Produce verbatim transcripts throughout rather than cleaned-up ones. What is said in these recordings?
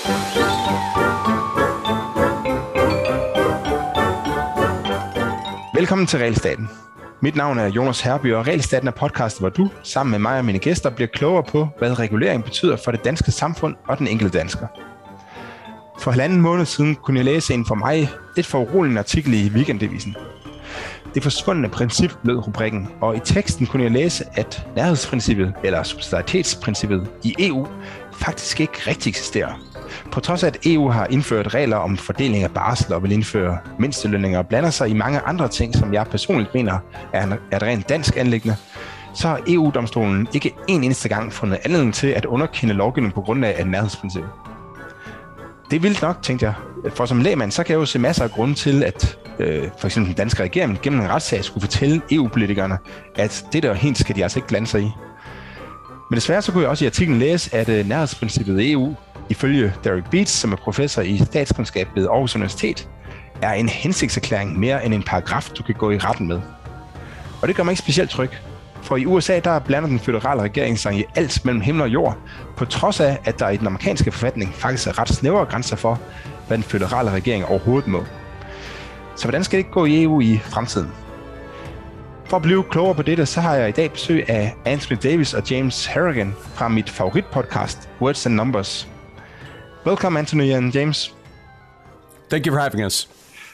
Velkommen til Realstaten. Mit navn er Jonas Herby, og Realstaten er podcast, hvor du, sammen med mig og mine gæster, bliver klogere på, hvad regulering betyder for det danske samfund og den enkelte dansker. For halvanden måned siden kunne jeg læse en for mig lidt for urolig artikel i Weekendavisen. Det forsvundne princip lød rubrikken, og i teksten kunne jeg læse, at nærhedsprincippet, eller subsidiaritetsprincippet i E U, faktisk ikke rigtig eksisterer. På trods af, at E U har indført regler om fordeling af barsel og vil indføre mindstelønninger og blander sig i mange andre ting, som jeg personligt mener er et rent dansk anliggende, så har E U-domstolen ikke en eneste gang fundet anledning til at underkende lovgivning på grund af nærhedsprincippet. Det er vildt nok, tænkte jeg. For som lægmand, så kan jeg jo se masser af grunde til, at øh, for eksempel den danske regering gennem en retssag skulle fortælle E U-politikerne, at det der helt skal de altså ikke blande sig i. Men desværre så kunne jeg også i artiklen læse, at øh, nærhedsprincippet i E U, ifølge Derek Beats, som er professor i statskundskab ved Aarhus Universitet, er en hensigtserklæring mere end en paragraf, du kan gå i retten med. Og det gør mig ikke specielt tryg. For i U S A, der blander den føderale regering sig i alt mellem himmel og jord, på trods af, at der i den amerikanske forfatning faktisk er ret snævre grænser for, hvad den føderale regering overhovedet må. Så hvordan skal det ikke gå i E U i fremtiden? For at blive klogere på dette, så har jeg i dag besøg af Anthony Davis og James Harrigan fra mit favoritpodcast, Words and Numbers. Welcome, Anthony and James. Thank you for having us.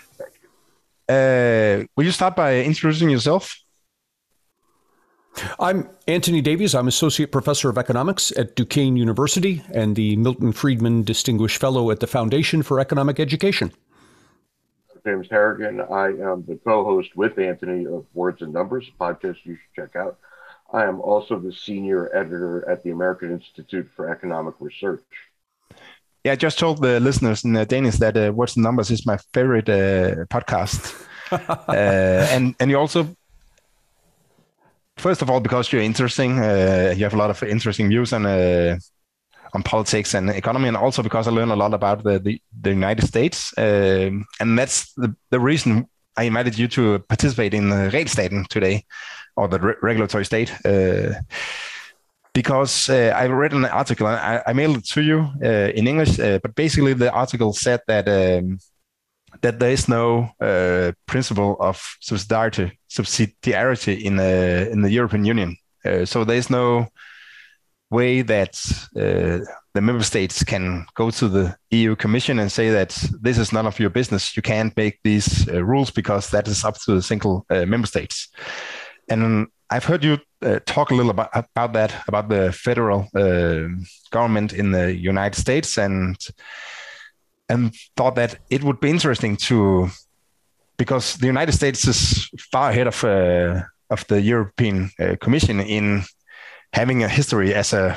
Uh, will you start by introducing yourself? I'm Anthony Davies. I'm Associate Professor of Economics at Duquesne University and the Milton Friedman Distinguished Fellow at the Foundation for Economic Education. James Harrigan. I am the co-host with Anthony of Words and Numbers, a podcast you should check out. I am also the senior editor at the American Institute for Economic Research. Yeah, I just told the listeners in uh, Danish that uh, Words and Numbers is my favorite uh, podcast. uh, and, and you also, first of all, because you're interesting, uh, you have a lot of interesting views on uh, on politics and economy, and also because I learned a lot about the, the, the United States. Uh, and that's the, the reason I invited you to participate in the Realstaten today, or the re- regulatory state. Uh, because uh, I read an article, and I, I mailed it to you uh, in English, uh, but basically the article said that um, that there is no uh, principle of subsidiarity, subsidiarity in the, in the European Union. Uh, so there is no way that uh, the member states can go to the E U Commission and say that this is none of your business. You can't make these uh, rules because that is up to the single uh, member states. And I've heard you uh, talk a little about, about that, about the federal uh, government in the United States, and and thought that it would be interesting to, because the United States is far ahead of uh, of the European uh, Commission in having a history as a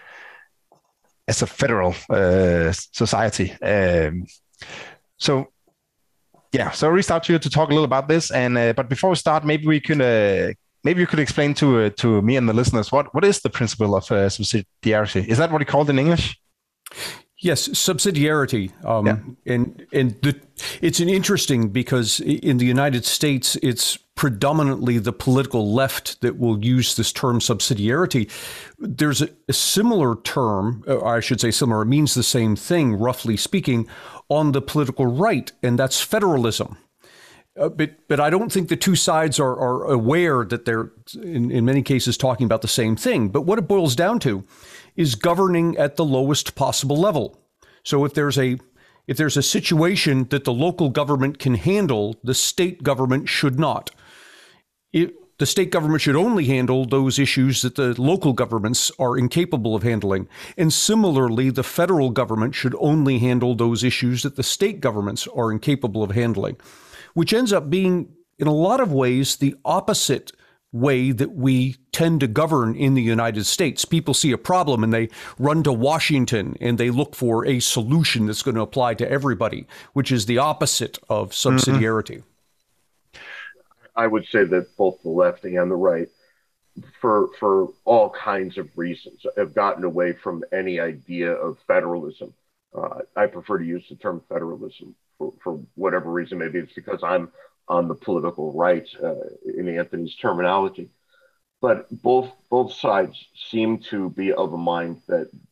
as a federal uh, society. Um, so, yeah, so I reached out to you to talk a little about this. And uh, but before we start, maybe we could uh, maybe you could explain to uh, to me and the listeners what what is the principle of uh, subsidiarity? Is that what you call it in English? Yes, subsidiarity. Um, yeah. And, and the, it's an interesting because in the United States, it's predominantly the political left that will use this term subsidiarity. There's a, a similar term, or I should say similar, it means the same thing, roughly speaking, on the political right, and that's federalism. Uh, but but I don't think the two sides are, are aware that they're, in, in many cases, talking about the same thing. But what it boils down to is governing at the lowest possible level. So if there's a if there's a situation that the local government can handle, the state government should not. It, the state government should only handle those issues that the local governments are incapable of handling. And similarly, the federal government should only handle those issues that the state governments are incapable of handling, which ends up being, in a lot of ways, the opposite way that we tend to govern in the United States. People see a problem and they run to Washington and they look for a solution that's going to apply to everybody, which is the opposite of subsidiarity. Mm-hmm. I would say that both the left and the right, for for all kinds of reasons, have gotten away from any idea of federalism. Uh, I prefer to use the term federalism for, for whatever reason. Maybe it's because I'm on the political right uh, in Anthony's terminology. But both both sides seem to be of a mind that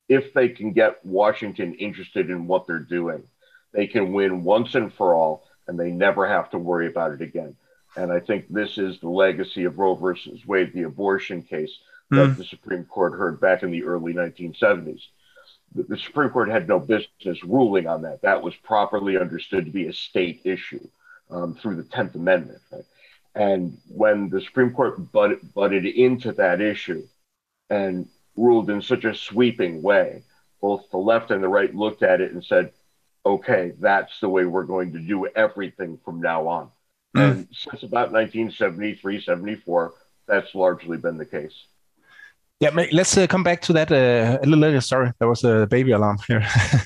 if they can get Washington interested in what they're doing, they can win once and for all, and they never have to worry about it again. And I think this is the legacy of Roe versus Wade, the abortion case that mm. the Supreme Court heard back in the early nineteen seventies. The, the Supreme Court had no business ruling on that. That was properly understood to be a state issue um, through the tenth Amendment. Right? And when the Supreme Court butt, butted into that issue and ruled in such a sweeping way, both the left and the right looked at it and said, okay, that's the way we're going to do everything from now on. Mm. And since about nineteen seventy-three, seventy-four, that's largely been the case. Yeah, let's uh, come back to that uh, a little later. Sorry, there was a baby alarm here.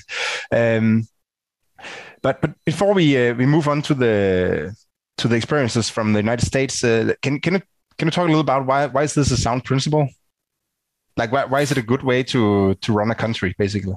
um, but but before we uh, we move on to the to the experiences from the United States, uh, can can you, can you talk a little about why why is this a sound principle? Like why why is it a good way to to run a country, basically?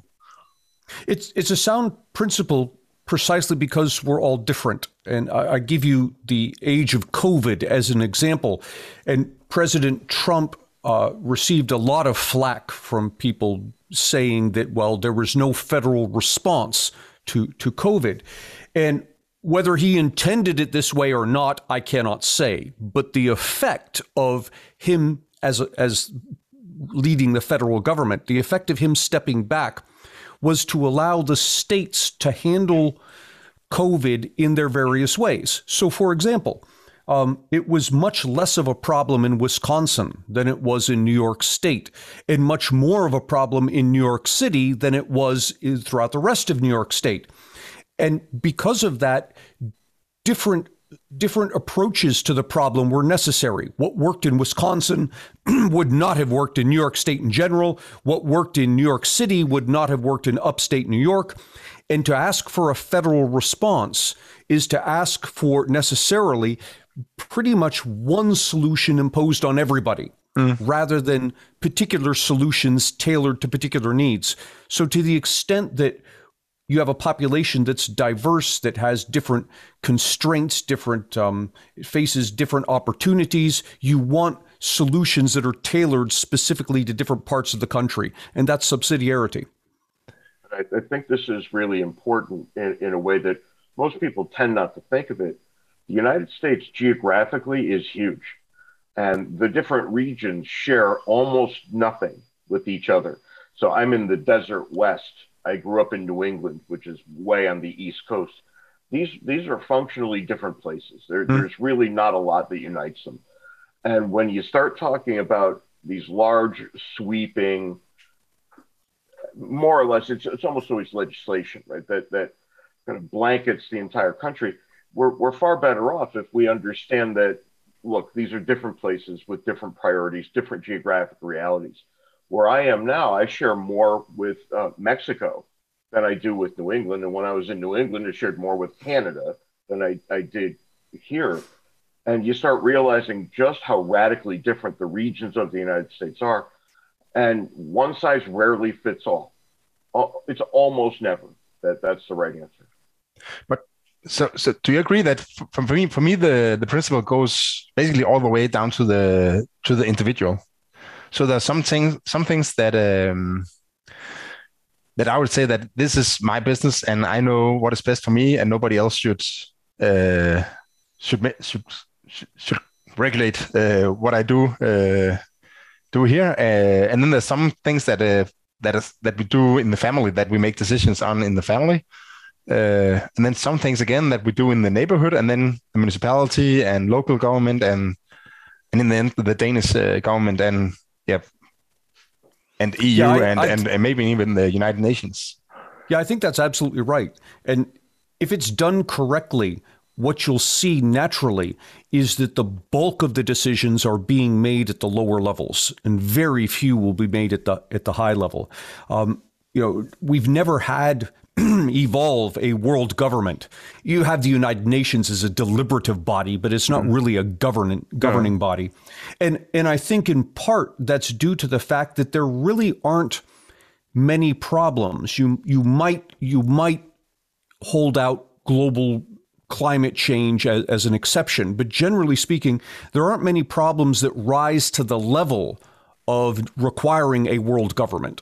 It's it's a sound principle precisely because we're all different. And I, I give you the age of COVID as an example. And President Trump uh, received a lot of flack from people saying that, well, there was no federal response to, to COVID. And whether he intended it this way or not, I cannot say. But the effect of him as a, as leading the federal government, the effect of him stepping back was to allow the states to handle COVID in their various ways. So, for example, um, it was much less of a problem in Wisconsin than it was in New York State, and much more of a problem in New York City than it was throughout the rest of New York State. And because of that, different different approaches to the problem were necessary. What worked in Wisconsin would not have worked in New York State in general. What worked in New York City would not have worked in upstate New York. And to ask for a federal response is to ask for necessarily pretty much one solution imposed on everybody, mm. rather than particular solutions tailored to particular needs. So to the extent that you have a population that's diverse, that has different constraints, different um, faces different opportunities. You want solutions that are tailored specifically to different parts of the country, and that's subsidiarity. I, I think this is really important in, in a way that most people tend not to think of it. The United States geographically is huge, and the different regions share almost nothing with each other. So I'm in the desert West. I grew up in New England, which is way on the East Coast. These these are functionally different places. There, mm. There's really not a lot that unites them. And when you start talking about these large, sweeping, more or less, it's it's almost always legislation, right? That that kind of blankets the entire country. We're we're far better off if we understand that, look, these are different places with different priorities, different geographic realities. Where I am now, I share more with uh, Mexico than I do with New England. And when I was in New England, I shared more with Canada than I, I did here. And you start realizing just how radically different the regions of the United States are. And one size rarely fits all. It's almost never that that's the right answer. But so, so do you agree that for, for me, for me, the, the principle goes basically all the way down to the to the individual? So there are some things, some things that um, that I would say that this is my business and I know what is best for me, and nobody else should uh, should should should regulate uh, what I do uh, do here. Uh, and then there's some things that uh, that is that we do in the family, that we make decisions on in the family, uh, and then some things again that we do in the neighborhood, and then the municipality and local government, and and in the end the Danish uh, government and yeah, and E U, yeah, I, and, I, and and maybe even the United Nations. Yeah, I think that's absolutely right. And if it's done correctly, what you'll see naturally is that the bulk of the decisions are being made at the lower levels, and very few will be made at the at the high level. Um, you know, we've never had evolve a world government. You have the United Nations as a deliberative body, but it's not really a governing governing yeah. body. And and I think in part that's due to the fact that there really aren't many problems. You you might you might hold out global climate change as, as an exception, but generally speaking, there aren't many problems that rise to the level of requiring a world government.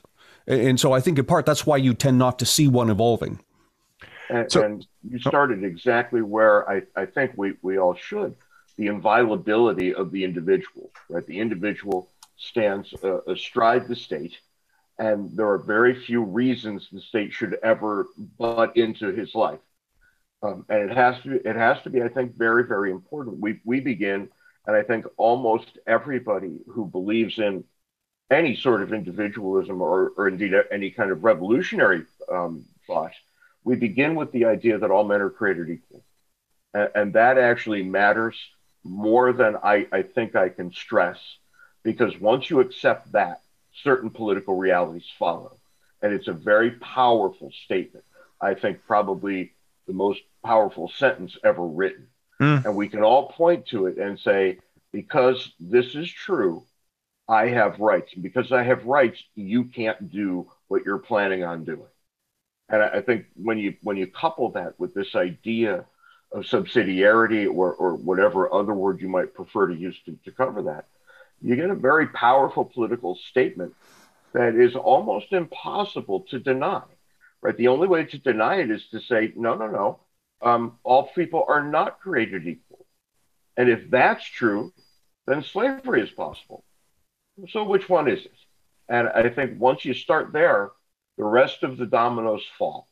And so I think in part that's why you tend not to see one evolving. And, So- and you started exactly where I, I think we, we all should. The inviolability of the individual, right? The individual stands uh, astride the state, and there are very few reasons the state should ever butt into his life. Um, and it has to, it has to be, I think, very, very important. We, we begin, and I think almost everybody who believes in any sort of individualism or, or indeed any kind of revolutionary um, thought, we begin with the idea that all men are created equal. And, and that actually matters more than I, I think I can stress, because once you accept that, certain political realities follow. And it's a very powerful statement. I think probably the most powerful sentence ever written. Mm. And we can all point to it and say, because this is true, I have rights. And because I have rights, you can't do what you're planning on doing. And I think when you when you couple that with this idea of subsidiarity or, or whatever other word you might prefer to use to, to cover that, you get a very powerful political statement that is almost impossible to deny, right? The only way to deny it is to say, no, no, no, um, all people are not created equal. And if that's true, then slavery is possible. So which one is it? And I think once you start there, the rest of the dominoes fall.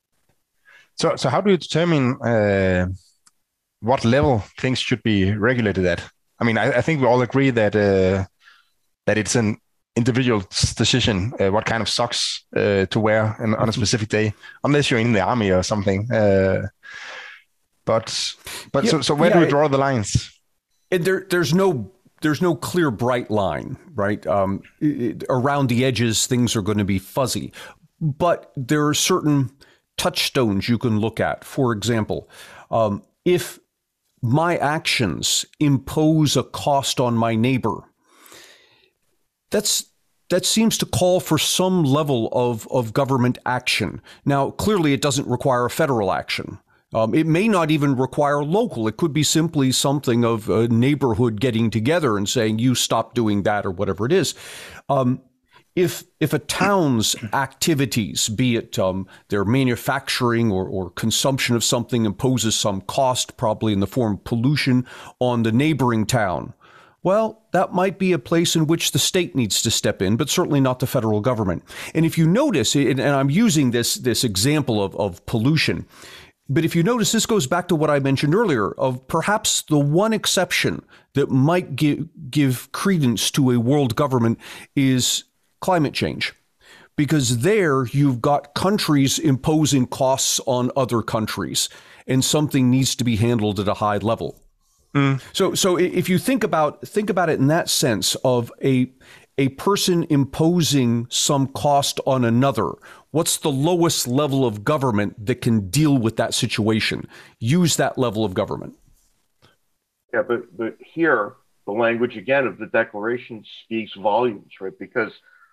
So, so how do you determine uh, what level things should be regulated at? I mean, I, I think we all agree that uh, that it's an individual's decision uh, what kind of socks uh, to wear in, on a specific day, unless you're in the army or something. Uh, but but yeah, so, so where yeah, do we draw the lines? And there, there's no there's no clear bright line, right? Um, it, around the edges, things are going to be fuzzy, but there are certain touchstones you can look at. For example, um, if my actions impose a cost on my neighbor, that's that seems to call for some level of, of government action. Now, clearly, it doesn't require a federal action. Um, it may not even require local. It could be simply something of a neighborhood getting together and saying, you stop doing that or whatever it is. Um, if if a town's activities, be it um, their manufacturing or, or consumption of something, imposes some cost, probably in the form of pollution, on the neighboring town, well, that might be a place in which the state needs to step in, but certainly not the federal government. And if you notice, and I'm using this, this example of, of pollution, but if you notice, this goes back to what I mentioned earlier of perhaps the one exception that might give, give credence to a world government is climate change. Because there you've got countries imposing costs on other countries, and something needs to be handled at a high level. Mm. So, so if you think about think about it in that sense of a a person imposing some cost on another, what's the lowest level of government that can deal with that situation? Use that level of government. Yeah, but but here the language again of the Declaration speaks volumes, right? Because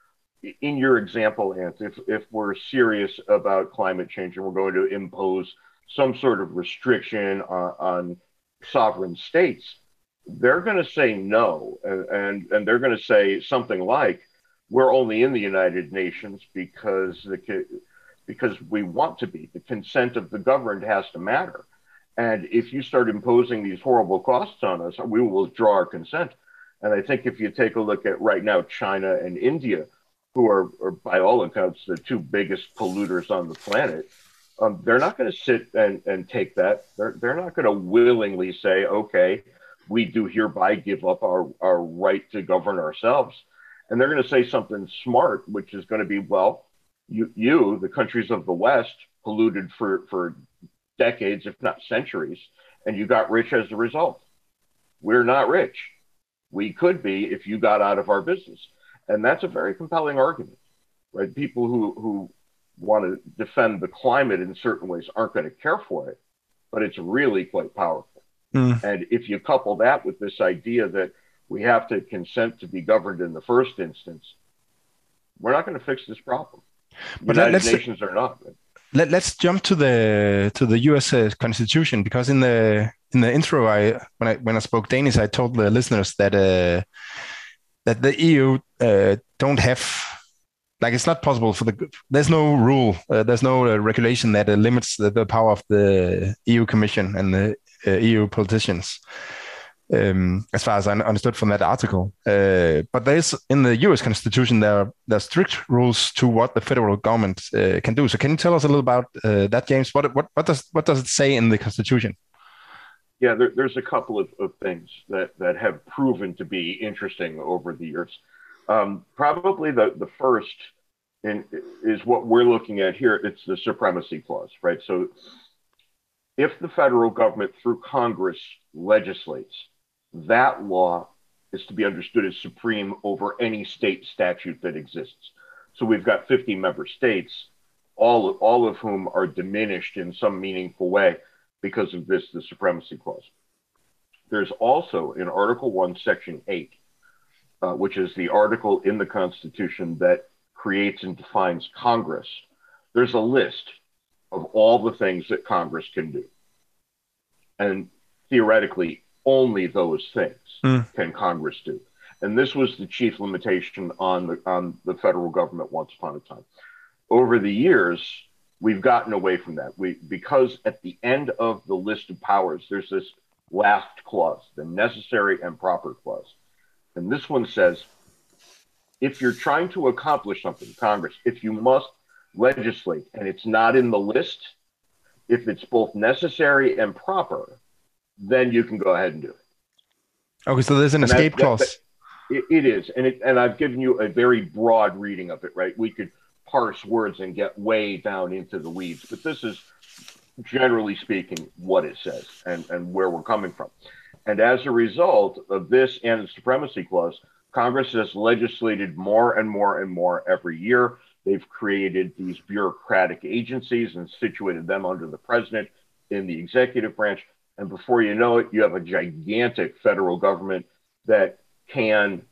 in your example, Ant, if if we're serious about climate change and we're going to impose some sort of restriction on, on sovereign states, they're going to say no, and, and, and they're going to say something like, we're only in the United Nations because the because we want to be. The consent of the governed has to matter. And if you start imposing these horrible costs on us, we will withdraw our consent. And I think if you take a look at right now, China and India, who are, are by all accounts, the two biggest polluters on the planet, Um, they're not going to sit and, and take that. They're, they're not going to willingly say, okay, we do hereby give up our, our right to govern ourselves. And they're going to say something smart, which is going to be, well, you, you the countries of the West, polluted for, for decades, if not centuries, and you got rich as a result. We're not rich. We could be if you got out of our business. And that's a very compelling argument, right? People who, who want to defend the climate in certain ways aren't going to care for it, but it's really quite powerful. Mm. And if you couple that with this idea that we have to consent to be governed in the first instance, we're not going to fix this problem. But United let's, Nations are not. Let, let's jump to the to the U S uh, Constitution, because in the in the intro, I when I when I spoke Danish, I told the listeners that uh, that the E U uh, don't have like it's not possible for the. There's no rule. Uh, there's no uh, regulation that uh, limits the, the power of the E U Commission and the uh, E U politicians. Um, as far as I understood from that article, uh, but there's in the U S Constitution there are, there are strict rules to what the federal government uh, can do. So can you tell us a little about uh, that, James? What what what does what does it say in the Constitution? Yeah, there, there's a couple of, of things that, that have proven to be interesting over the years. Um, probably the, the first in, is what we're looking at here. It's the Supremacy Clause, right? So if the federal government through Congress legislates, that law is to be understood as supreme over any state statute that exists. So we've got fifty member states, all, all of whom are diminished in some meaningful way because of this, the Supremacy Clause. There's also in Article one, Section eight, uh, which is the article in the Constitution that creates and defines Congress. There's a list of all the things that Congress can do. And theoretically, only those things mm. can Congress do. And this was the chief limitation on the, on the federal government once upon a time. Over the years, we've gotten away from that. We, because at the end of the list of powers, there's this last clause, the necessary and proper clause. And this one says, if you're trying to accomplish something, Congress, if you must legislate and it's not in the list, if it's both necessary and proper, then you can go ahead and do it. Okay, so there's an and escape that, clause. That, that, it, it is. And, it, and I've given you a very broad reading of it, right? We could parse words and get way down into the weeds, but this is generally speaking what it says and, and where we're coming from. And as a result of this and the Supremacy Clause, Congress has legislated more and more and more every year. They've created these bureaucratic agencies and situated them under the president in the executive branch. And before you know it, you have a gigantic federal government that can,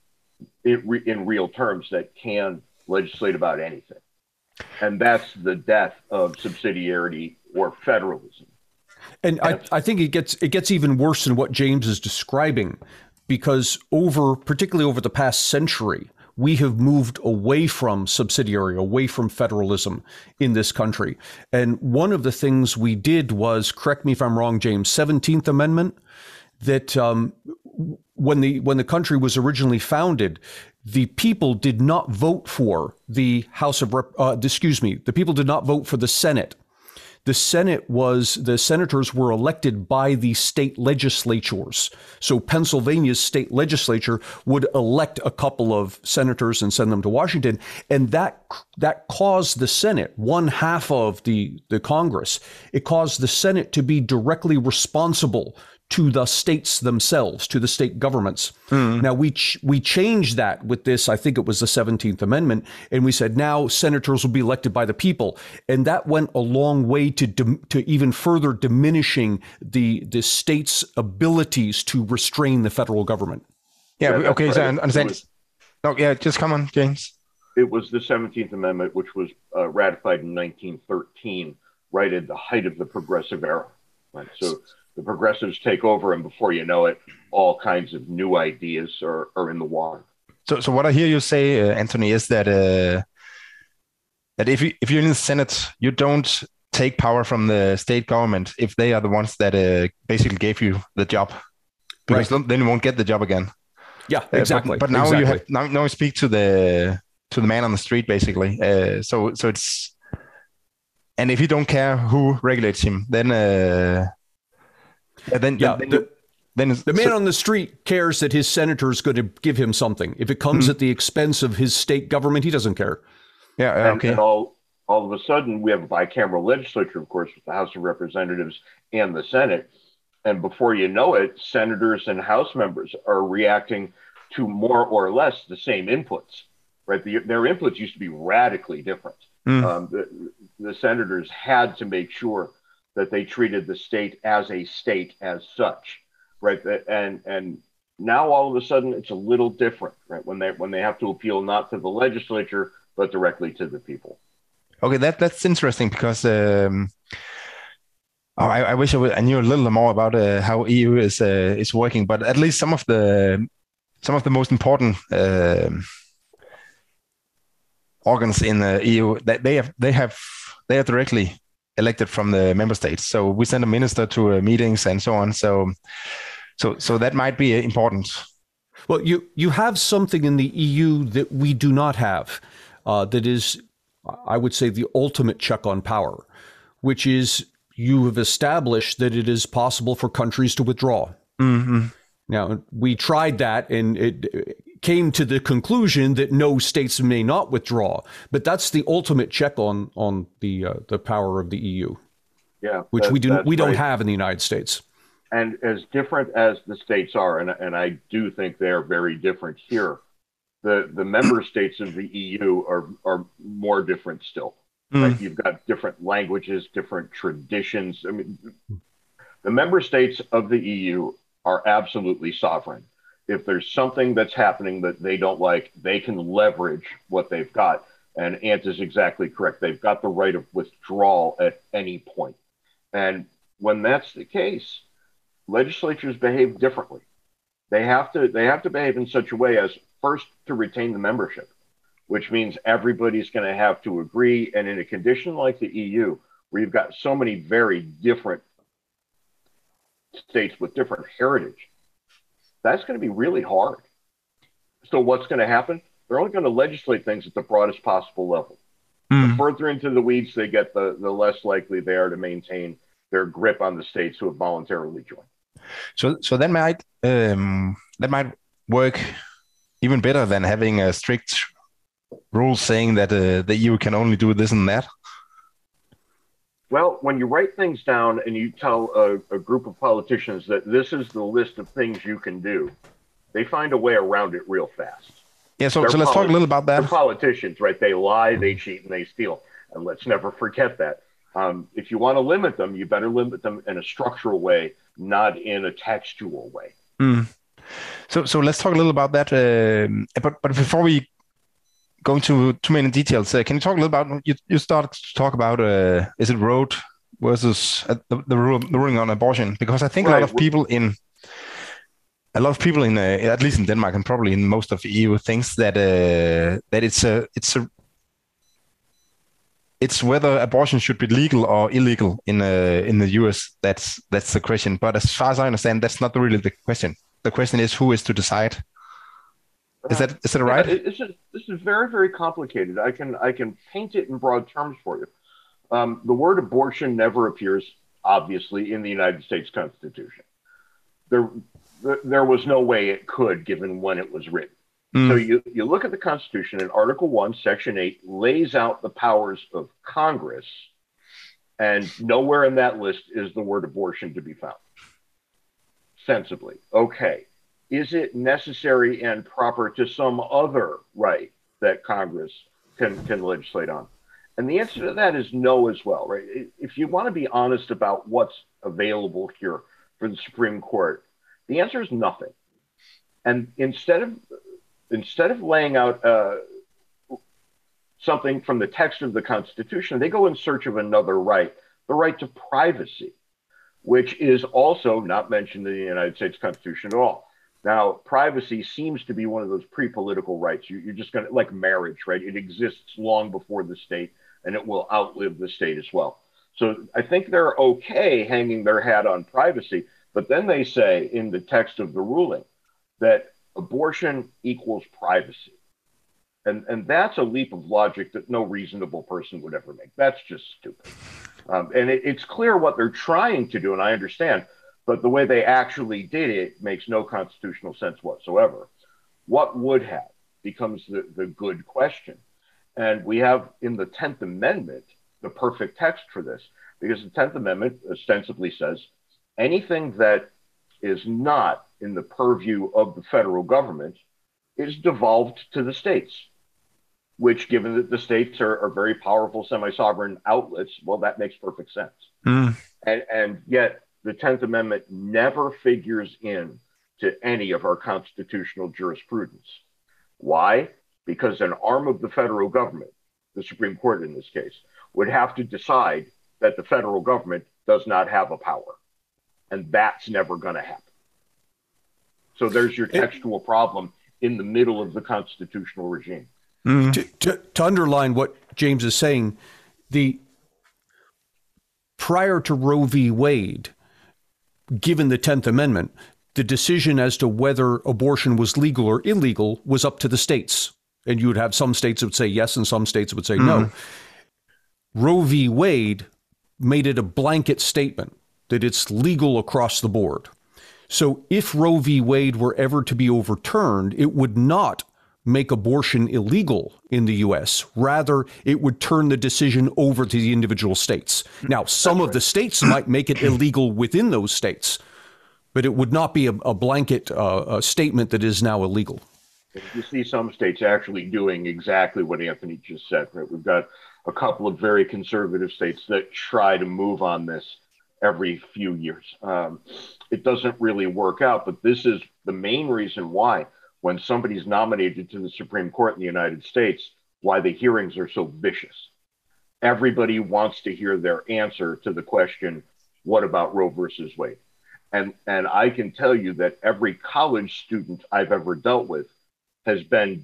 in real terms, that can legislate about anything. And that's the death of subsidiarity or federalism. And I, I think it gets it gets even worse than what James is describing, because over, particularly over the past century, we have moved away from subsidiary, away from federalism in this country. And one of the things we did was, correct me if I'm wrong, James, seventeenth Amendment, that um, when the when the country was originally founded, the people did not vote for the House of Rep, uh, excuse me, the people did not vote for the Senate. The Senate was, the senators were elected by the state legislatures. So Pennsylvania's state legislature would elect a couple of senators and send them to Washington. And that that caused the Senate, one half of the, the Congress, it caused the Senate to be directly responsible to the states themselves, to the state governments. Mm. Now, we ch- we changed that with this, I think it was the seventeenth Amendment, and we said now senators will be elected by the people. And that went a long way to dim- to even further diminishing the, the state's abilities to restrain the federal government. Yeah, yeah okay, right. so I understand. Was, no, yeah, just come on, James. It was the seventeenth Amendment, which was uh, ratified in nineteen thirteen, right at the height of the progressive era. Right, so the progressives take over, and before you know it, all kinds of new ideas are, are in the water. So, so what I hear you say, uh, Anthony, is that uh, that if you if you're in the Senate, you don't take power from the state government if they are the ones that uh, basically gave you the job, because right. then you won't get the job again. Yeah, exactly. Uh, but, but now exactly. you have now, now you speak to the to the man on the street, basically. Uh, so so it's and if you don't care who regulates him, then. Uh, Yeah, then, yeah, then, the, then the man so, on the street cares that his senator is going to give him something. If it comes mm-hmm. at the expense of his state government, he doesn't care. Yeah, and, okay. And all, all of a sudden, we have a bicameral legislature, of course, with the House of Representatives and the Senate. And before you know it, senators and House members are reacting to more or less the same inputs. Right? The, their inputs used to be radically different. Mm. Um, the, the senators had to make sure that they treated the state as a state as such, right? And and now all of a sudden it's a little different, right? When they when they have to appeal not to the legislature but directly to the people. Okay, that that's interesting because um, oh, I, I wish I, would, I knew a little more about uh, how E U is uh, is working, but at least some of the some of the most important uh, organs in the E U, that they have they have they are directly elected from the member states. So we send a minister to uh, meetings and so on. So so so that might be important. Well, you you have something in the E U that we do not have, uh, that is, I would say, the ultimate check on power, which is you have established that it is possible for countries to withdraw. Mm-hmm. Now, we tried that, and it came to the conclusion that no, states may not withdraw. But that's the ultimate check on on the uh, the power of the E U. Yeah, which that, we do we don't right. have in the United States. And as different as the states are, and and I do think they are very different here, the the member states of the E U are are more different still. Mm. Right? You've got different languages, different traditions. I mean, the member states of the E U are absolutely sovereign. If there's something that's happening that they don't like, they can leverage what they've got. And Ant is exactly correct. They've got the right of withdrawal at any point. And when that's the case, legislatures behave differently. They have to they have to behave in such a way as first to retain the membership, which means everybody's going to have to agree. And in a condition like the E U, where you've got so many very different states with different heritage, that's going to be really hard. So what's going to happen? They're only going to legislate things at the broadest possible level. Mm. The further into the weeds they get, the, the less likely they are to maintain their grip on the states who have voluntarily joined. So, so that might um, that might work even better than having a strict rule saying that uh, the E U can only do this and that. Well, when you write things down and you tell a, a group of politicians that this is the list of things you can do, they find a way around it real fast. Yeah, so, so let's talk a little about that. They're politicians, right? They lie, they cheat, and they steal. And let's never forget that. Um, if you want to limit them, you better limit them in a structural way, not in a textual way. Mm. So, so let's talk a little about that. Uh, but but before we go into too many details, uh, can you talk a little about? You you started to talk about uh, is it Roe versus uh, the the, rule, the ruling on abortion? Because I think right. a lot of people in a lot of people in uh, at least in Denmark and probably in most of the E U thinks that uh, that it's a it's a it's whether abortion should be legal or illegal in uh, in the U S. That's that's the question. But as far as I understand, that's not really the question. The question is who is to decide. Is that is that right? Yeah, this is this is very very complicated. I can I can paint it in broad terms for you. Um, the word abortion never appears obviously in the United States Constitution. There there was no way it could, given when it was written. Mm. So you, you look at the Constitution, and Article one, Section eight lays out the powers of Congress, and nowhere in that list is the word abortion to be found. Sensibly. Okay. Is it necessary and proper to some other right that Congress can, can legislate on? And the answer to that is no as well, right? If you want to be honest about what's available here for the Supreme Court, the answer is nothing. And instead of Instead of laying out uh, something from the text of the Constitution, they go in search of another right, the right to privacy, which is also not mentioned in the United States Constitution at all. Now, privacy seems to be one of those pre-political rights. You, you're just going to, like marriage, right? It exists long before the state, and it will outlive the state as well. So I think they're okay hanging their hat on privacy, but then they say in the text of the ruling that abortion equals privacy. And, and that's a leap of logic that no reasonable person would ever make. That's just stupid. Um, and it, it's clear what they're trying to do, and I understand, but the way they actually did it makes no constitutional sense whatsoever. What would have becomes the, the good question. And we have in the tenth Amendment the perfect text for this, because the tenth Amendment ostensibly says anything that is not in the purview of the federal government is devolved to the states, which, given that the states are, are very powerful semi-sovereign outlets, well, that makes perfect sense. Mm. And, and yet the tenth Amendment never figures in to any of our constitutional jurisprudence. Why? Because an arm of the federal government, the Supreme Court in this case, would have to decide that the federal government does not have a power. And that's never going to happen. So there's your textual problem in the middle of the constitutional regime. Mm. To, to, to underline what James is saying, the prior to Roe v. Wade, given the tenth Amendment, the decision as to whether abortion was legal or illegal was up to the states. And you would have some states that would say yes and some states would say mm. no. Roe v. Wade made it a blanket statement that it's legal across the board. So if Roe v. Wade were ever to be overturned, it would not make abortion illegal in the U S. Rather, it would turn the decision over to the individual states. Now, some of the states might make it illegal within those states, but it would not be a, a blanket uh, a statement that is now illegal. You see some states actually doing exactly what Anthony just said, right? We've got a couple of very conservative states that try to move on this every few years. Um, it doesn't really work out, but this is the main reason why, when somebody's nominated to the Supreme Court in the United States, why the hearings are so vicious. Everybody wants to hear their answer to the question, what about Roe versus Wade? And, and I can tell you that every college student I've ever dealt with has been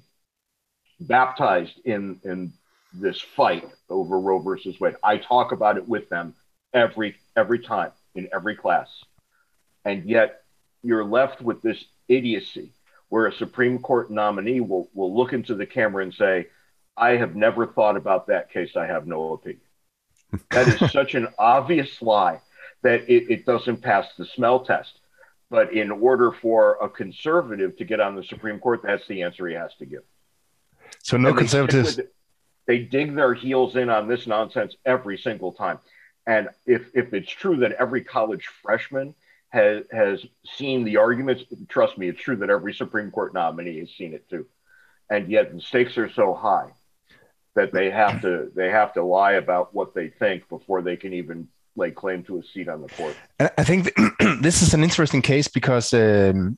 baptized in, in this fight over Roe versus Wade. I talk about it with them every, every time in every class. And yet you're left with this idiocy where a Supreme Court nominee will, will look into the camera and say, I have never thought about that case. I have no opinion. That is such an obvious lie that it, it doesn't pass the smell test. But in order for a conservative to get on the Supreme Court, that's the answer he has to give. So no conservatives. They dig their heels in on this nonsense every single time. And if, if it's true that every college freshman has, has seen the arguments, trust me, it's true that every Supreme Court nominee has seen it too. And yet the stakes are so high that they have to they have to lie about what they think before they can even lay claim to a seat on the court. And I think this is an interesting case because um,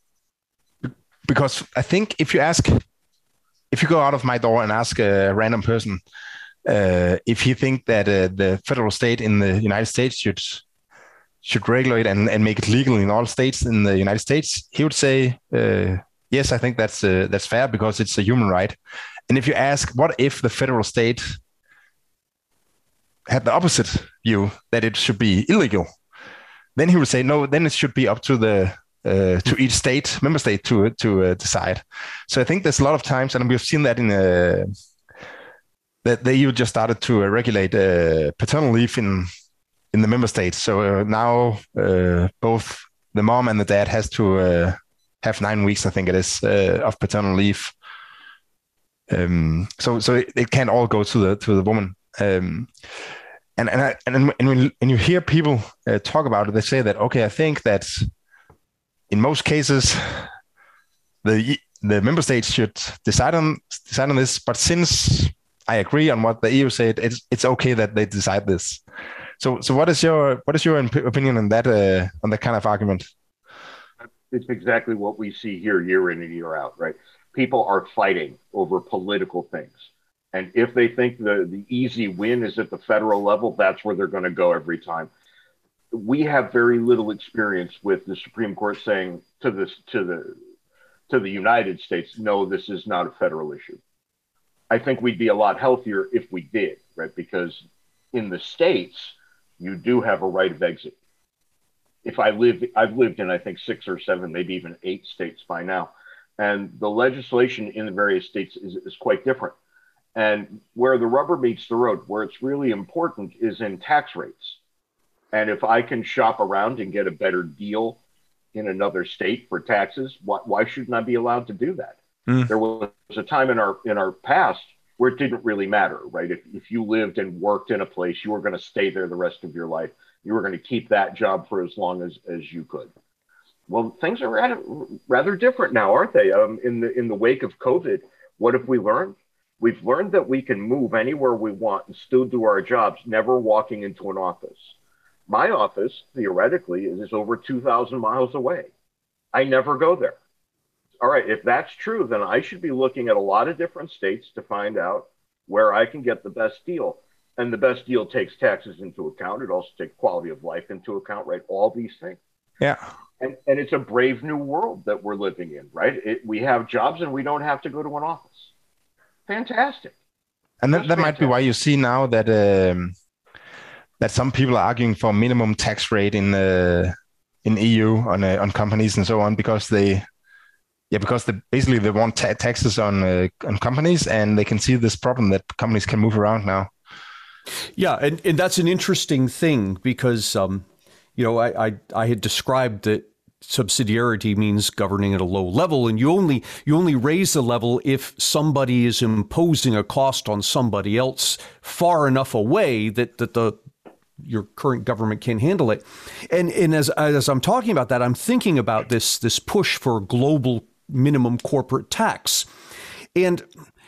because I think if you ask, if you go out of my door and ask a random person uh, if he think that uh, the federal state in the United States should should regulate and, and make it legal in all states in the United States, he would say, uh, yes, I think that's uh, that's fair because it's a human right. And if you ask, what if the federal state had the opposite view, that it should be illegal, then he would say, no, then it should be up to the uh, to each state, member state, to to uh, decide. So I think there's a lot of times, and we've seen that in uh, that the E U just started to uh, regulate uh, paternal leave in in the member states. So uh, now uh, both the mom and the dad has to uh, have nine weeks, I think it is, uh, of paternal leave. Um, so so it, it can't all go to the to the woman. Um, and and I, and and when, when you hear people uh, talk about it, they say that, okay, I think that in most cases the the member states should decide on decide on this, but since I agree on what the E U said, it's it's okay that they decide this. So so what is your what is your opinion on that uh, on that kind of argument? It's exactly what we see here year in and year out, right? People are fighting over political things. And if they think the, the easy win is at the federal level, that's where they're going to go every time. We have very little experience with the Supreme Court saying to this to the to the United States, no, this is not a federal issue. I think we'd be a lot healthier if we did, right? Because in the states, you do have a right of exit. If I live, I've lived in, I think, six or seven, maybe even eight states by now. And the legislation in the various states is, is quite different. And where the rubber meets the road, where it's really important, is in tax rates. And if I can shop around and get a better deal in another state for taxes, why, why shouldn't I be allowed to do that? Mm. There was a time in our in our past where it didn't really matter, right? If, if you lived and worked in a place, you were going to stay there the rest of your life. You were going to keep that job for as long as, as you could. Well, things are rather, rather different now, aren't they? Um, in the in the wake of COVID, what have we learned? We've learned that we can move anywhere we want and still do our jobs, never walking into an office. My office, theoretically, is over two thousand miles away. I never go there. All right, if that's true, then I should be looking at a lot of different states to find out where I can get the best deal. And the best deal takes taxes into account. It also takes quality of life into account, right? All these things. Yeah. And, and it's a brave new world that we're living in, right? It, we have jobs and we don't have to go to an office. fantastic. And that, that might be why you see now that um, that some people are arguing for minimum tax rate in uh, in E U on uh, on companies and so on, because they yeah because they basically they want ta- taxes on uh, on companies, and they can see this problem that companies can move around now. Yeah, and, and that's an interesting thing because um, you know I, I I had described that subsidiarity means governing at a low level, and you only you only raise the level if somebody is imposing a cost on somebody else far enough away that that the your current government can handle it. And and as as I'm talking about that, I'm thinking about this this push for global minimum corporate tax. And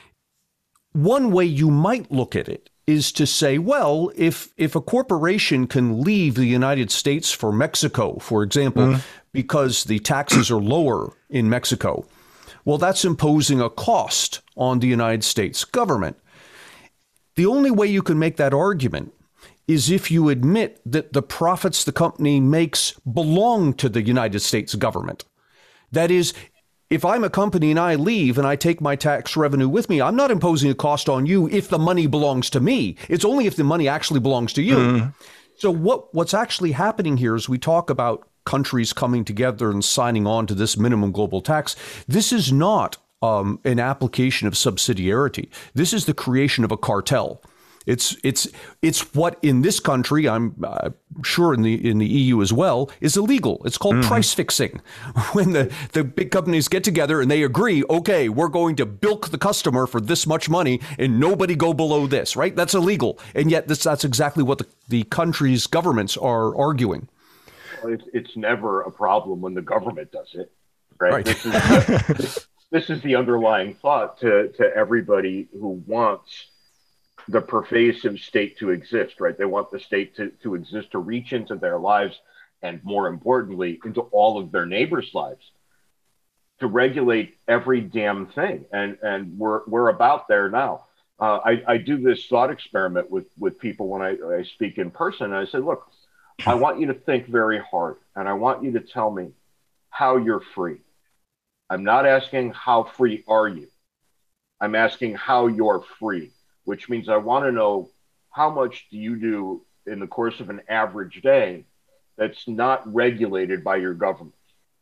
one way you might look at it is to say, well, if if a corporation can leave the United States for Mexico, for example, mm. because the taxes are lower in Mexico, well, that's imposing a cost on the United States government. The only way you can make that argument is if you admit that the profits the company makes belong to the United States government. That is, if I'm a company and I leave and I take my tax revenue with me, I'm not imposing a cost on you if the money belongs to me. It's only if the money actually belongs to you. Mm. So what, what's actually happening here is we talk about countries coming together and signing on to this minimum global tax. This is not um, an application of subsidiarity. This is the creation of a cartel. It's it's it's what in this country, I'm uh, sure in the in the E U as well, is illegal. It's called mm-hmm. price fixing. When the, the big companies get together and they agree, okay, we're going to bilk the customer for this much money and nobody go below this, right? That's illegal. And yet this, that's exactly what the, the country's governments are arguing. Well, it's, it's never a problem when the government does it, right? right. This, is the, this, this is the underlying thought to, to everybody who wants the pervasive state to exist, right? They want the state to, to exist, to reach into their lives, and more importantly, into all of their neighbors' lives, to regulate every damn thing. And and we're we're about there now. Uh, I, I do this thought experiment with, with people when I, I speak in person. And I say, look, I want you to think very hard, and I want you to tell me how you're free. I'm not asking how free are you. I'm asking how you're free, which means I want to know how much do you do in the course of an average day that's not regulated by your government?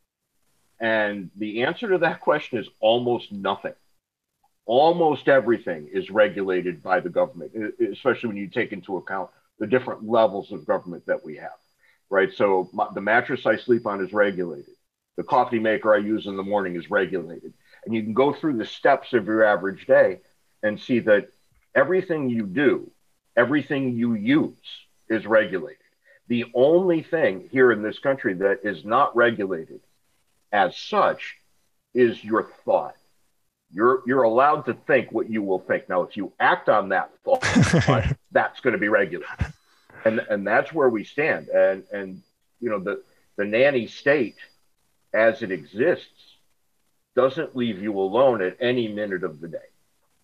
And the answer to that question is almost nothing. Almost everything is regulated by the government, especially when you take into account the different levels of government that we have, right? So my, the mattress I sleep on is regulated. The coffee maker I use in the morning is regulated. And you can go through the steps of your average day and see that everything you do, everything you use is regulated. The only thing here in this country that is not regulated as such is your thought. You're you're allowed to think what you will think. Now, if you act on that thought, that's going to be regulated. And and that's where we stand. And and you know, the, the nanny state as it exists doesn't leave you alone at any minute of the day.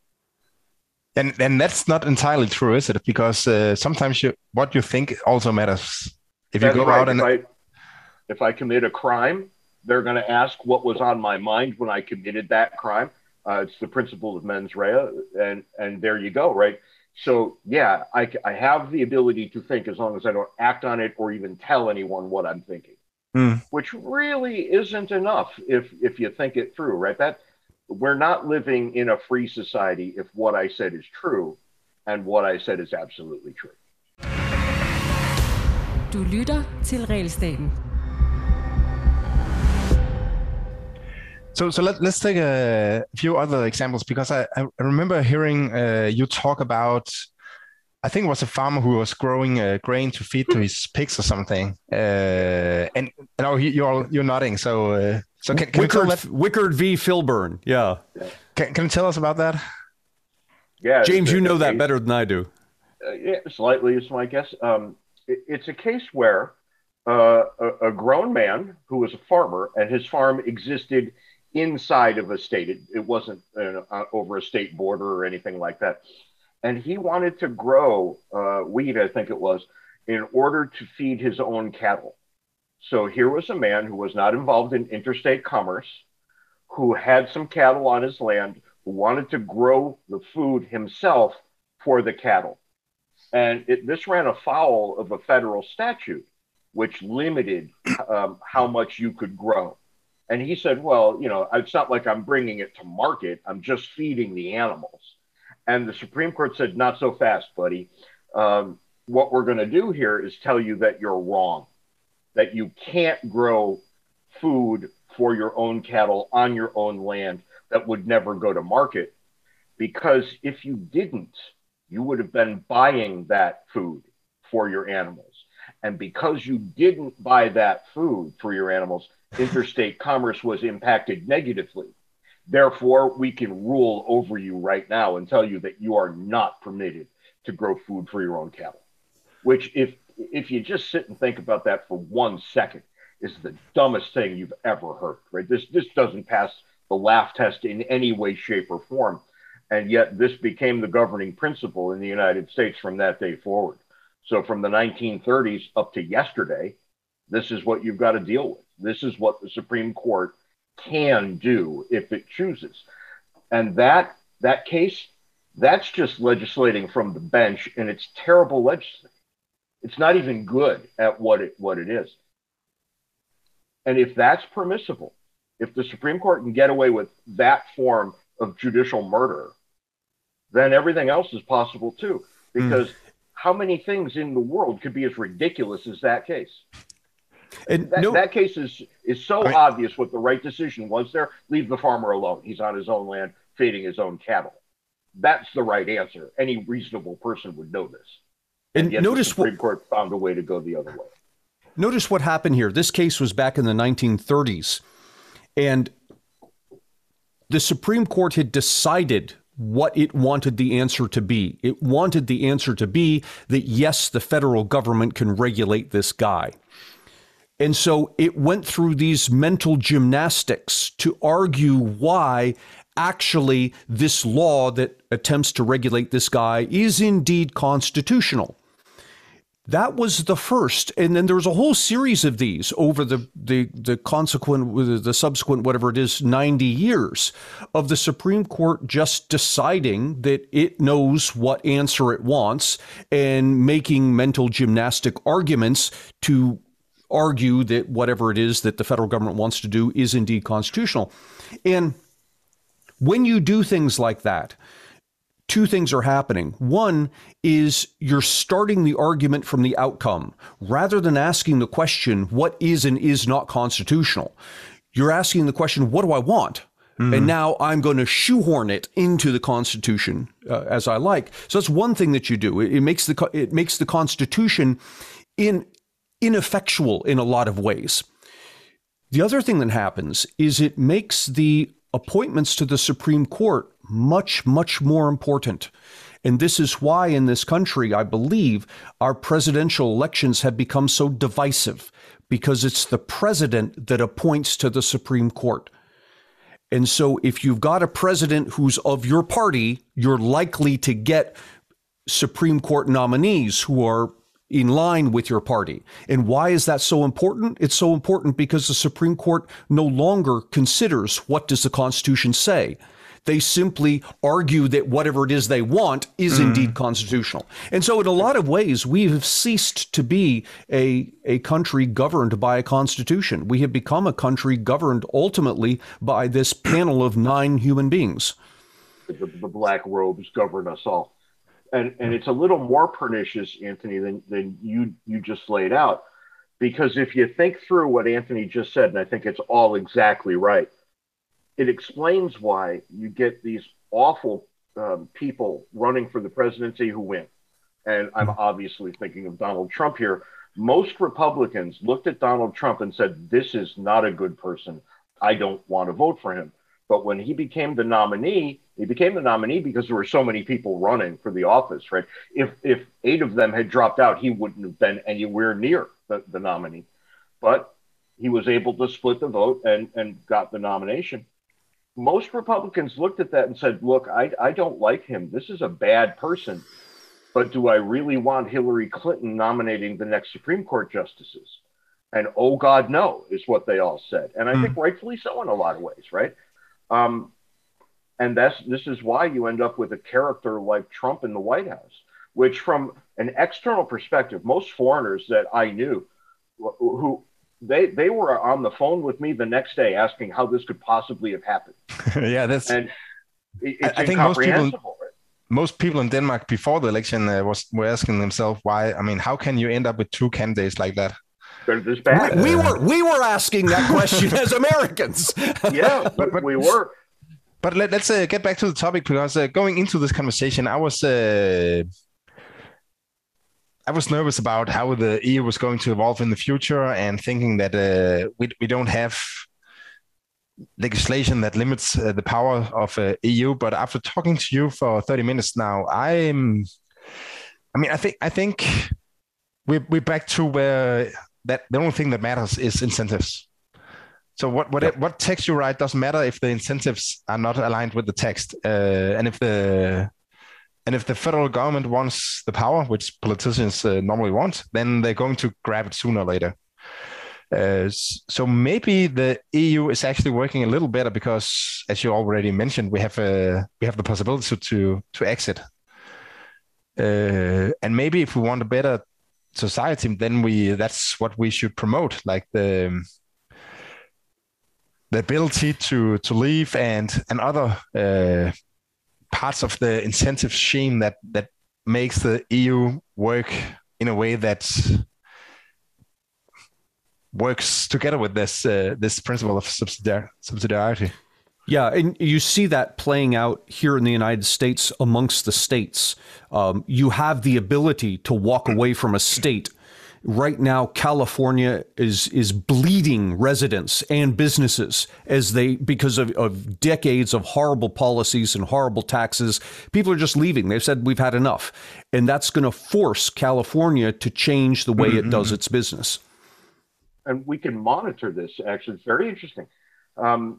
And and that's not entirely true, is it? Because uh, sometimes you, what you think also matters. If that's you go right. out and if I, if I commit a crime, they're going to ask what was on my mind when I committed that crime. Uh, it's the principle of mens rea, and and there you go, right? So yeah, I, I have the ability to think as long as I don't act on it or even tell anyone what I'm thinking, mm. which really isn't enough if if you think it through, right? That we're not living in a free society if what I said is true, and what I said is absolutely true. Du lytter til Regelstaten. So, so let, let's take a few other examples, because I, I remember hearing uh, you talk about, I think it was a farmer who was growing uh, grain to feed to his pigs or something. Uh, and you know, you're you're nodding. So, uh, so can, can Wickard, you tell that? Wickard v. Filburn. Yeah. Can, can you tell us about that? Yeah, James, you know that better than I do. Uh, yeah, slightly is my guess. Um, it, it's a case where uh, a, a grown man who was a farmer, and his farm existed inside of a state. It, it wasn't uh, over a state border or anything like that. And he wanted to grow uh, wheat, I think it was, in order to feed his own cattle. So here was a man who was not involved in interstate commerce, who had some cattle on his land, who wanted to grow the food himself for the cattle. And it, this ran afoul of a federal statute, which limited um, how much you could grow. And he said, well, you know, it's not like I'm bringing it to market. I'm just feeding the animals. And the Supreme Court said, not so fast, buddy. Um, what we're going to do here is tell you that you're wrong, that you can't grow food for your own cattle on your own land that would never go to market. Because if you didn't, you would have been buying that food for your animals. And because you didn't buy that food for your animals, interstate commerce was impacted negatively. Therefore, we can rule over you right now and tell you that you are not permitted to grow food for your own cattle. Which, if if you just sit and think about that for one second, is the dumbest thing you've ever heard, right? This this doesn't pass the laugh test in any way, shape, or form. And yet this became the governing principle in the United States from that day forward. So from the nineteen thirties up to yesterday, this is what you've got to deal with. This is what the Supreme Court can do if it chooses. And that that case, that's just legislating from the bench, and it's terrible legislating. It's not even good at what it what it is. And if that's permissible, if the Supreme Court can get away with that form of judicial murder, then everything else is possible too. Because mm. how many things in the world could be as ridiculous as that case? And that, no, that case is is so I, obvious what the right decision was there. Leave the farmer alone. He's on his own land, feeding his own cattle. That's the right answer. Any reasonable person would know this. And, and yet notice the Supreme what, Court found a way to go the other way. Notice what happened here. This case was back in the nineteen thirties. And the Supreme Court had decided what it wanted the answer to be. It wanted the answer to be that, yes, the federal government can regulate this guy. And so it went through these mental gymnastics to argue why actually this law that attempts to regulate this guy is indeed constitutional. That was the first. And then there was a whole series of these over the, the, the consequent, the subsequent, whatever it is, ninety years of the Supreme Court just deciding that it knows what answer it wants and making mental gymnastic arguments to argue that whatever it is that the federal government wants to do is indeed constitutional. And when you do things like that, two things are happening. One is you're starting the argument from the outcome rather than asking the question, what is and is not constitutional? You're asking the question, what do I want? Mm-hmm. And now I'm going to shoehorn it into the Constitution uh, as I like. So that's one thing that you do. It, it makes the it makes the Constitution in ineffectual in a lot of ways. The other thing that happens is it makes the appointments to the Supreme Court much, much more important. And this is why in this country, I believe, our presidential elections have become so divisive, because it's the president that appoints to the Supreme Court. And so if you've got a president who's of your party, you're likely to get Supreme Court nominees who are in line with your party. And why is that so important? It's so important because the Supreme Court no longer considers what does the Constitution say. They simply argue that whatever it is they want is mm. indeed constitutional. And so in a lot of ways, we have ceased to be a, a country governed by a constitution. We have become a country governed ultimately by this panel of nine human beings. The, the black robes govern us all. And and it's a little more pernicious, Anthony, than, than you, you just laid out. Because if you think through what Anthony just said, and I think it's all exactly right, it explains why you get these awful um, people running for the presidency who win. And I'm obviously thinking of Donald Trump here. Most Republicans looked at Donald Trump and said, this is not a good person. I don't want to vote for him. But when he became the nominee, he became the nominee because there were so many people running for the office, right? If if eight of them had dropped out, he wouldn't have been anywhere near the, the nominee. But he was able to split the vote and, and got the nomination. Most Republicans looked at that and said, look, I, I don't like him. This is a bad person. But do I really want Hillary Clinton nominating the next Supreme Court justices? And oh, God, no, is what they all said. And I mm. think rightfully so in a lot of ways, right? Um, And that's this is why you end up with a character like Trump in the White House, which from an external perspective, most foreigners that I knew who they they were on the phone with me the next day asking how this could possibly have happened. Yeah, that's and it's I, I think most people right? most people in Denmark before the election uh, was were asking themselves why. I mean, how can you end up with two candidates like that? They're this bad. We, we were we were asking that question as Americans. Yeah, but, but we were. But let, let's uh, get back to the topic, because uh, going into this conversation, I was uh, I was nervous about how the E U was going to evolve in the future, and thinking that uh, we we don't have legislation that limits uh, the power of uh, E U. But after talking to you for thirty minutes now, I'm I mean I think I think we're we're back to where that the only thing that matters is incentives. So what what Yep. what text you write doesn't matter if the incentives are not aligned with the text, uh, and if the and if the federal government wants the power, which politicians uh, normally want, then they're going to grab it sooner or later. Uh, so maybe the E U is actually working a little better because, as you already mentioned, we have a we have the possibility to to exit. Uh, and maybe if we want a better society, then we that's what we should promote, like the the ability to to leave and and other uh, parts of the incentive scheme that that makes the E U work in a way that works together with this uh, this principle of subsidiar- subsidiarity. Yeah, and you see that playing out here in the United States amongst the states. Um, you have the ability to walk away from a state. Right now, California is is bleeding residents and businesses as they because of, of decades of horrible policies and horrible taxes. People are just leaving. They've said we've had enough, and that's going to force California to change the way mm-hmm. it does its business. And we can monitor this. Actually, it's very interesting. Um,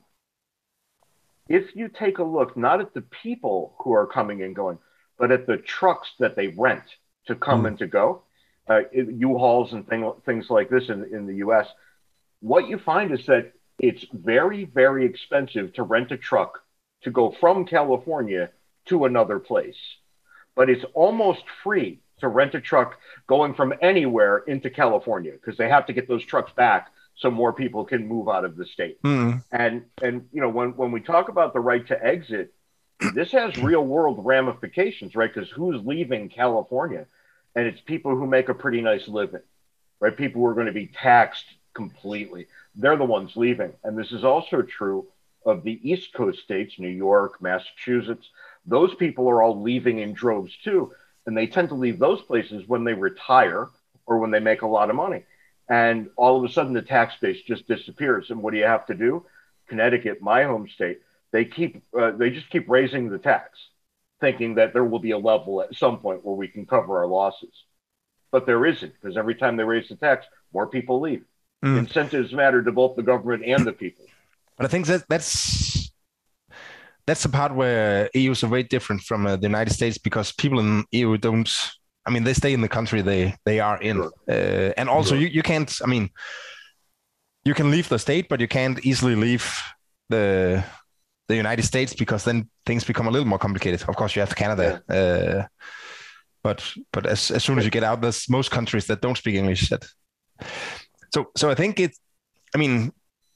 if you take a look, not at the people who are coming and going, but at the trucks that they rent to come mm. and to go, uh, U-Hauls and thing, things like this in, in the U S, what you find is that it's very, very expensive to rent a truck to go from California to another place. But it's almost free to rent a truck going from anywhere into California, because they have to get those trucks back so more people can move out of the state. Mm. And, and you know, when, when we talk about the right to exit, this has real world ramifications, right? Because who's leaving California? And it's people who make a pretty nice living, right? People who are going to be taxed completely. They're the ones leaving. And this is also true of the East Coast states, New York, Massachusetts. Those people are all leaving in droves too. And they tend to leave those places when they retire or when they make a lot of money. And all of a sudden, the tax base just disappears. And what do you have to do? Connecticut, my home state, they keep uh, they just keep raising the tax, thinking that there will be a level at some point where we can cover our losses. But there isn't, because every time they raise the tax, more people leave. Mm. Incentives matter to both the government and the people. But I think that that's that's the part where E Us are very different from uh, the United States, because people in E U don't. I mean, they stay in the country they they are in, sure. uh, and also sure. you, you can't. I mean, you can leave the state, but you can't easily leave the the United States, because then things become a little more complicated. Of course, you have Canada, yeah. uh, but but as as soon as you get out, there's most countries that don't speak English. That so so I think it. I mean,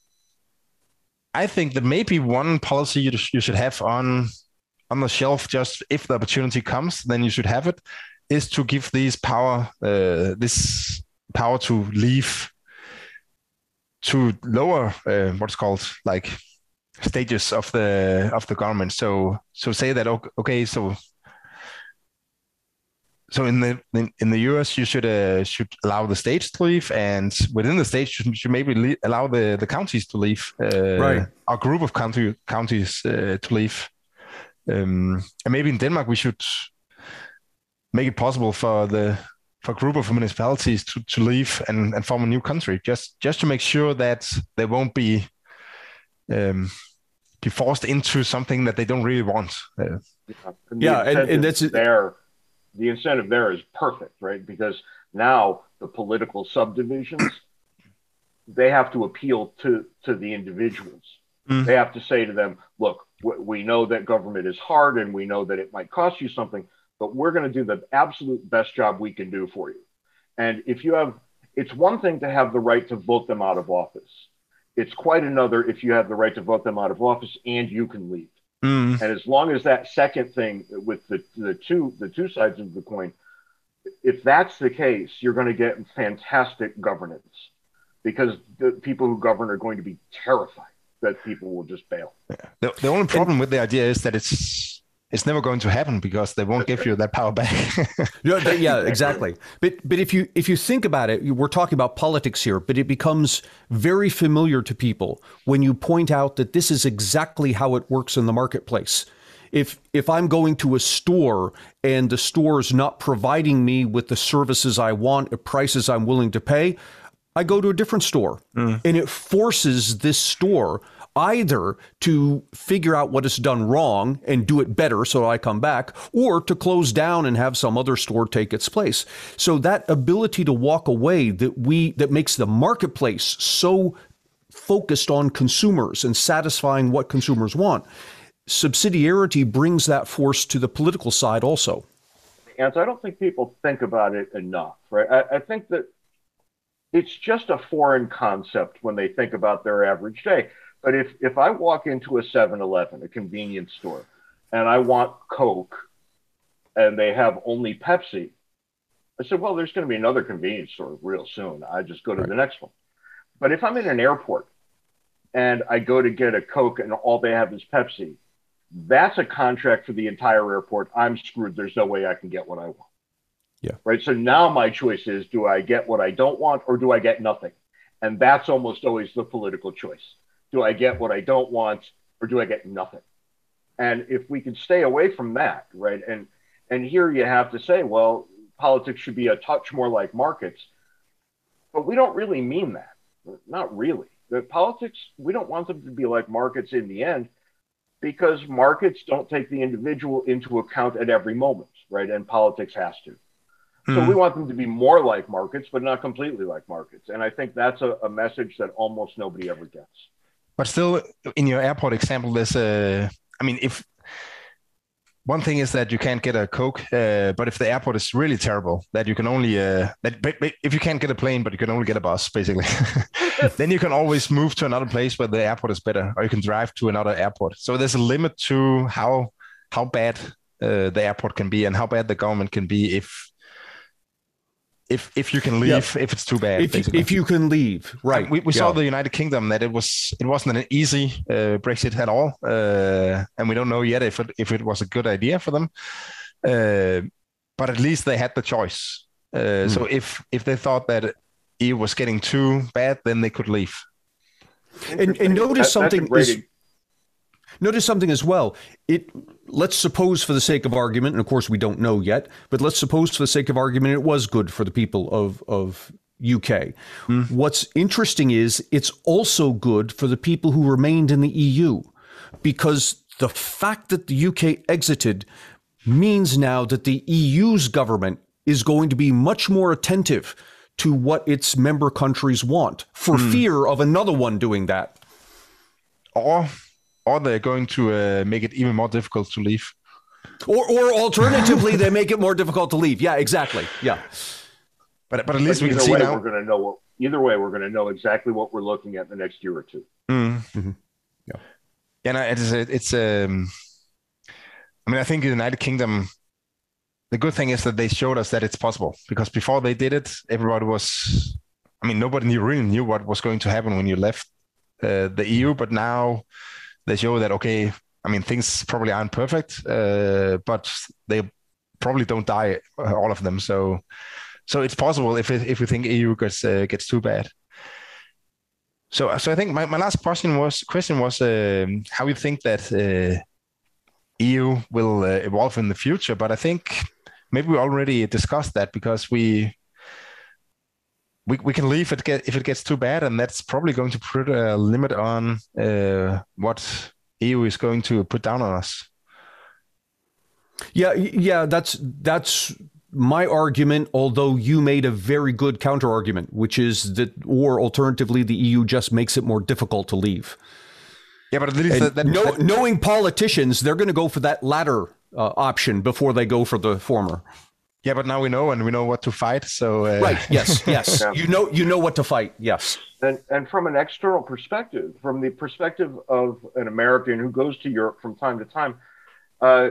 I think that maybe one policy you you should have on on the shelf, just if the opportunity comes, then you should have it, is to give these power, uh, this power to leave to lower uh, what's called like stages of the of the government. So so say that okay, so so in the in, in the U S you should uh, should allow the states to leave, and within the states you should, should maybe le- allow the, the counties to leave, uh, right? A group of county counties uh, to leave, um, and maybe in Denmark we should make it possible for the for a group of municipalities to, to leave and, and form a new country, just just to make sure that they won't be um, be forced into something that they don't really want. Uh, yeah, and, yeah, and, and that's there. The incentive there is perfect, right? Because now the political subdivisions, they have to appeal to to the individuals. Mm. They have to say to them, "Look, We know that government is hard and we know that it might cost you something, but we're going to do the absolute best job we can do for you. And if you have, it's one thing to have the right to vote them out of office. It's quite another if you have the right to vote them out of office and you can leave. Mm. And as long as that second thing with the, the two the two sides of the coin, if that's the case, you're going to get fantastic governance, because the people who govern are going to be terrified that people will just bail. Yeah. The, the only problem and, with the idea is that it's it's never going to happen because they won't give you that power back. yeah, yeah, exactly. But but if you if you think about it, we're talking about politics here, but it becomes very familiar to people when you point out that this is exactly how it works in the marketplace. If if I'm going to a store and the store is not providing me with the services I want at prices I'm willing to pay, I go to a different store. Mm. And it forces this store either to figure out what is done wrong and do it better so I come back, or to close down and have some other store take its place. So that ability to walk away that we that makes the marketplace so focused on consumers and satisfying what consumers want, subsidiarity brings that force to the political side also. And so I don't think people think about it enough, right? I, I think that it's just a foreign concept when they think about their average day. But if, if I walk into a seven eleven, a convenience store, and I want Coke, and they have only Pepsi, I said, well, there's going to be another convenience store real soon. I just go to right. the next one. But if I'm in an airport and I go to get a Coke and all they have is Pepsi, that's a contract for the entire airport. I'm screwed. There's no way I can get what I want. Yeah. Right. So now my choice is, do I get what I don't want or do I get nothing? And that's almost always the political choice. Do I get what I don't want or do I get nothing? And if we can stay away from that, right? And and here you have to say, well, politics should be a touch more like markets. But we don't really mean that. Not really. The politics, we don't want them to be like markets in the end, because markets don't take the individual into account at every moment, right? And politics has to. So mm-hmm. we want them to be more like markets, but not completely like markets. And I think that's a, a message that almost nobody ever gets. But still, in your airport example, there's a, I mean, if one thing is that you can't get a Coke, uh, but if the airport is really terrible, that you can only, uh, that but, but if you can't get a plane, but you can only get a bus, basically, then you can always move to another place where the airport is better, or you can drive to another airport. So there's a limit to how how bad uh, the airport can be and how bad the government can be if if if you can leave, yeah. if it's too bad. If you, if you can leave, right? And we we yeah. saw the United Kingdom that it was it wasn't an easy uh, Brexit at all, uh, and we don't know yet if it if it was a good idea for them. Uh, but at least they had the choice. Uh, mm. So if if they thought that E U was getting too bad, then they could leave. And, and notice that, something is. Notice something as well. It let's suppose, for the sake of argument, and of course we don't know yet, but let's suppose for the sake of argument it was good for the people of, of U K. Mm. What's interesting is it's also good for the people who remained in the E U, because the fact that the U K exited means now that the E U's government is going to be much more attentive to what its member countries want, for mm. fear of another one doing that. Or Or they're going to uh, make it even more difficult to leave. Or, or alternatively, they make it more difficult to leave. Yeah, exactly. Yeah. But but at least but we can see way, now. We're going to know what. Either way, we're going to know exactly what we're looking at the next year or two. Mm. Mm-hmm. Yeah. Yeah. No, it's it's. Um, I mean, I think the United Kingdom. The good thing is that they showed us that it's possible, because before they did it, everybody was. I mean, nobody knew, really knew what was going to happen when you left uh, the E U, but now they show that, okay, I mean, things probably aren't perfect, uh, but they probably don't die, uh, all of them. So, so it's possible if it, if we think E U gets uh, gets too bad. So, so I think my, my last question was question was um, how you think that uh, E U will uh, evolve in the future. But I think maybe we already discussed that, because we. We we can leave it get, if it gets too bad, and that's probably going to put a limit on uh, what E U is going to put down on us. Yeah, yeah, that's that's my argument. Although you made a very good counter argument, which is that, or alternatively, the E U just makes it more difficult to leave. Yeah, but at least that, that, know, that, knowing politicians, they're going to go for that latter uh, option before they go for the former. Yeah, but now we know, and we know what to fight. So uh... right, yes, yes, yeah. you know, you know what to fight. Yes, and and from an external perspective, from the perspective of an American who goes to Europe from time to time, uh,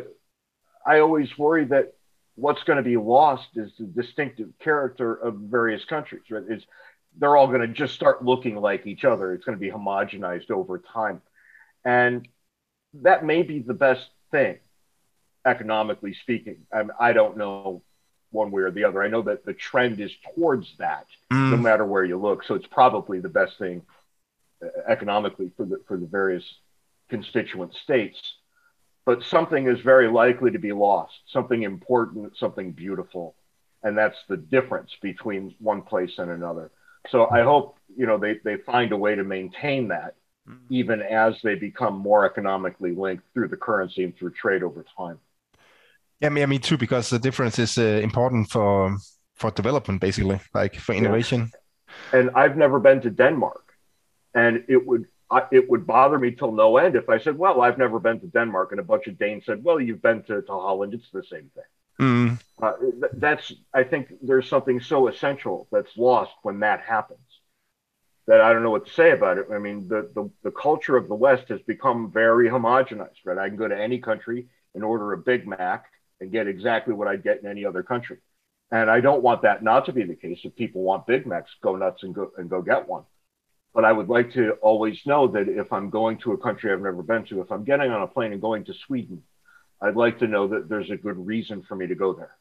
I always worry that what's going to be lost is the distinctive character of various countries. Right? It's, they're all going to just start looking like each other. It's going to be homogenized over time, and that may be the best thing, economically speaking. I, mean, I don't know one way or the other. I know that the trend is towards that, mm. no matter where you look. So it's probably the best thing uh, economically for the for the various constituent states. But something is very likely to be lost, something important, something beautiful. And that's the difference between one place and another. So I hope, you know, they, they find a way to maintain that, mm. even as they become more economically linked through the currency and through trade over time. Yeah, me, me too, because the difference is uh, important for for development, basically, like for innovation. Yeah. And I've never been to Denmark, and it would I, it would bother me till no end if I said, well, I've never been to Denmark, and a bunch of Danes said, well, you've been to, to Holland, it's the same thing. Mm. Uh, that's I think there's something so essential that's lost when that happens that I don't know what to say about it. I mean, the the, the culture of the West has become very homogenized, right? I can go to any country and order a Big Mac and get exactly what I'd get in any other country. And I don't want that not to be the case. If people want Big Macs, go nuts and go and go get one. But I would like to always know that if I'm going to a country I've never been to, if I'm getting on a plane and going to Sweden, I'd like to know that there's a good reason for me to go there.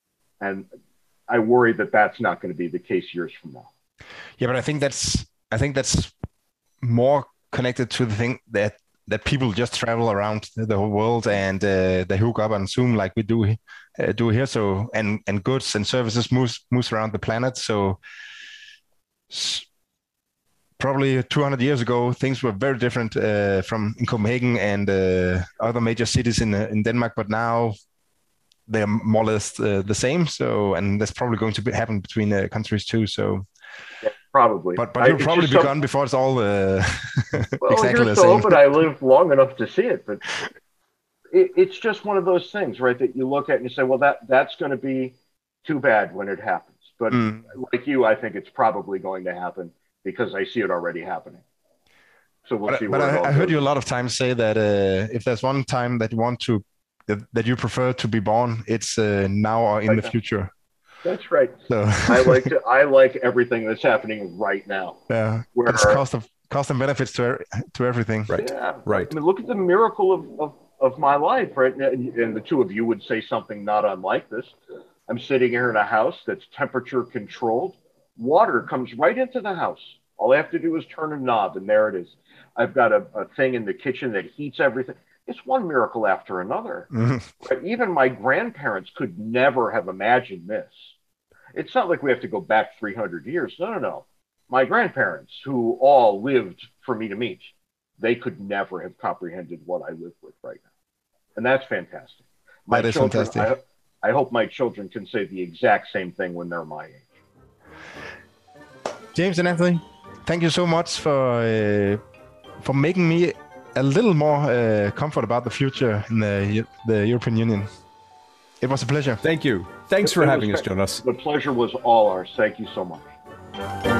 And I worry that that's not going to be the case years from now. Yeah, but I think that's I think that's more connected to the thing that that people just travel around the whole world and uh, they hook up on Zoom like we do uh, do here. So and and goods and services moves moves around the planet. So s- probably two hundred years ago, things were very different uh, from in Copenhagen and uh, other major cities in uh, in Denmark. But now they're more or less uh, the same. So and that's probably going to be, happen between uh, countries too. So. Yeah. Probably, but but you'll probably be some... gone before it's all uh, well, exactly the so same. But I lived long enough to see it. But it, it's just one of those things, right? That you look at and you say, well, that that's going to be too bad when it happens. But mm. like you, I think it's probably going to happen because I see it already happening. So we'll but, see. But where I, it all I heard goes. you a lot of times say that uh, if there's one time that you want to that, that you prefer to be born, it's uh, now or in right the now. future. That's right. So. I like to. I like everything that's happening right now. Yeah, where, it's cost of cost and benefits to to everything. Right. Yeah. Right. I mean, look at the miracle of, of, of my life, right? And the two of you would say something not unlike this. I'm sitting here in a house that's temperature controlled. Water comes right into the house. All I have to do is turn a knob, and there it is. I've got a, a thing in the kitchen that heats everything. It's one miracle after another. Mm-hmm. But even my grandparents could never have imagined this. It's not like we have to go back three hundred years. No, no, no. My grandparents, who all lived for me to meet, they could never have comprehended what I live with right now. And that's fantastic. My that is children, fantastic. I, I hope my children can say the exact same thing when they're my age. James and Anthony, thank you so much for uh, for making me a little more uh, comfort about the future in the, the European Union. It was a pleasure. Thank you. Thanks for it having was, us, Jonas. The pleasure was all ours. Thank you so much.